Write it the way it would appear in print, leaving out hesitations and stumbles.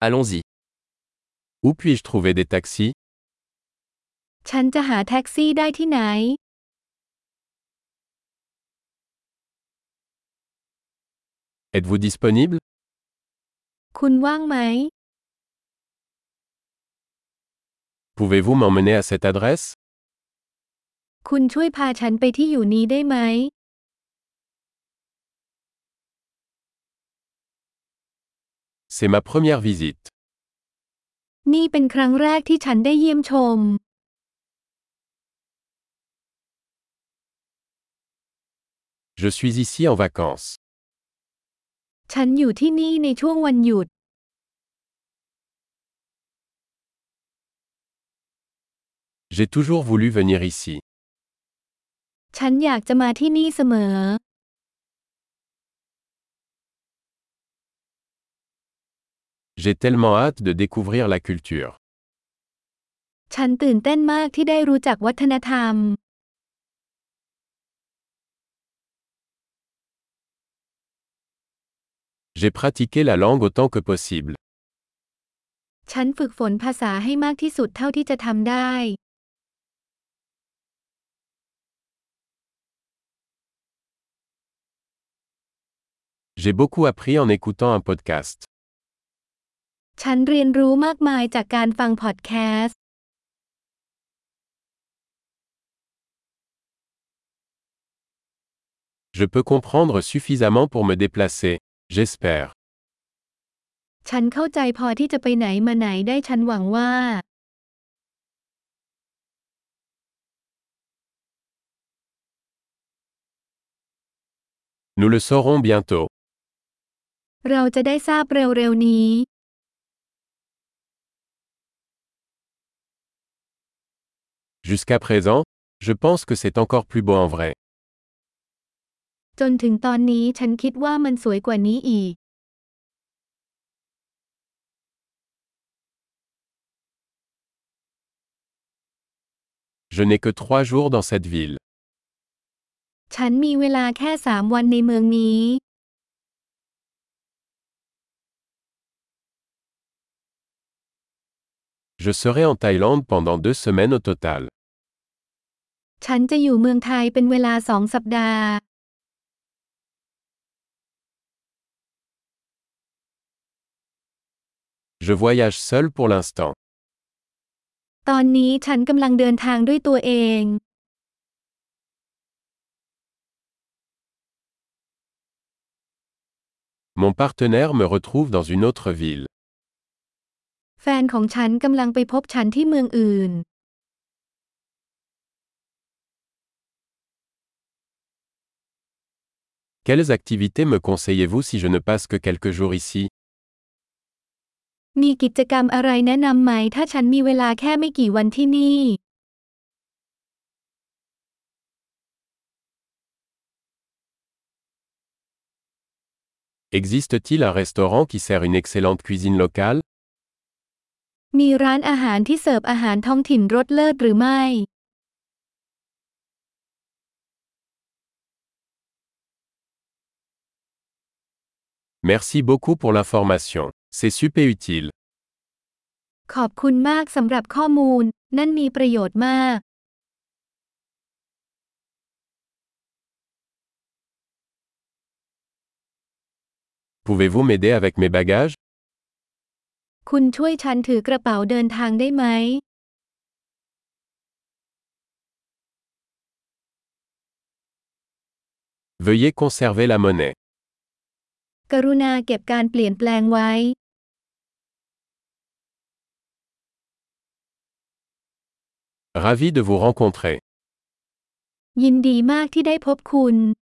Allons-y. Où puis-je trouver des taxis? ฉันจะหาแท็กซี่ได้ที่ไหน Êtes-vous disponible? คุณว่างไหม Pouvez-vous m'emmener à cette adresse? คุณช่วยพาฉันไปที่อยู่นี้ได้ไหม C'est ma première visite. นี่เป็นครั้งแรกที่ฉันได้เยี่ยมชม Je suis ici en vacances. ฉันอยู่ที่นี่ในช่วงวันหยุด J'ai toujours voulu venir ici. ฉันอยากจะมาที่นี่เสมอ J'ai tellement hâte de découvrir la culture. ฉันตื่นเต้นมากที่ได้รู้จักวัฒนธรรม J'ai pratiqué la langue autant que possible. ฉันฝึกฝนภาษาให้มากที่สุดเท่าที่จะทำได้ J'ai beaucoup appris en écoutant un podcast. ฉันเรียนรู้มากมายจากการฟังพอดแคสต์ Je peux comprendre suffisamment pour me déplacer, j'espère. ฉันเข้าใจพอที่จะไปไหนมาไหนได้ฉันหวังว่า Nous le saurons bientôt. เราจะได้ทราบเร็วๆนี้ Jusqu'à présent, je pense que c'est encore plus beau en vrai. จนถึงตอนนี้ฉันคิดว่ามันสวยกว่านี้อีก Je n'ai que 3 jours dans cette ville. ฉันมีเวลาแค่3 วันในเมืองนี้ Je serai en Thaïlande pendant 2 semaines au total. ฉันจะอยู่เมืองไทยเป็นเวลา2 สัปดาห์ Je voyage seul pour l'instant. ตอนนี้ฉันกำลังเดินทางด้วยตัวเอง Mon partenaire me retrouve dans une autre ville. แฟนของฉันกำลังไปพบฉันที่เมืองอื่น Quelles activités me conseillez-vous si je ne passe que quelques jours ici? มีกิจกรรมอะไรแนะนำไหมถ้าฉันมีเวลาแค่ไม่กี่วันที่นี่ Existe-t-il un restaurant qui sert une excellente cuisine locale? มีร้านอาหารที่เสิร์ฟอาหารท้องถิ่นรสเลิศหรือไม่ Merci beaucoup pour l'information. C'est super utile. ขอบคุณมากสำหรับข้อมูล นั่นมีประโยชน์มาก Pouvez-vous m'aider avec mes bagages? คุณช่วยฉันถือกระเป๋าเดินทางได้ไหม Veuillez conserver la monnaie. กรุณาเก็บการเปลี่ยนแปลงไว้ Ravi de vous rencontrer. ยินดีมากที่ได้พบคุณ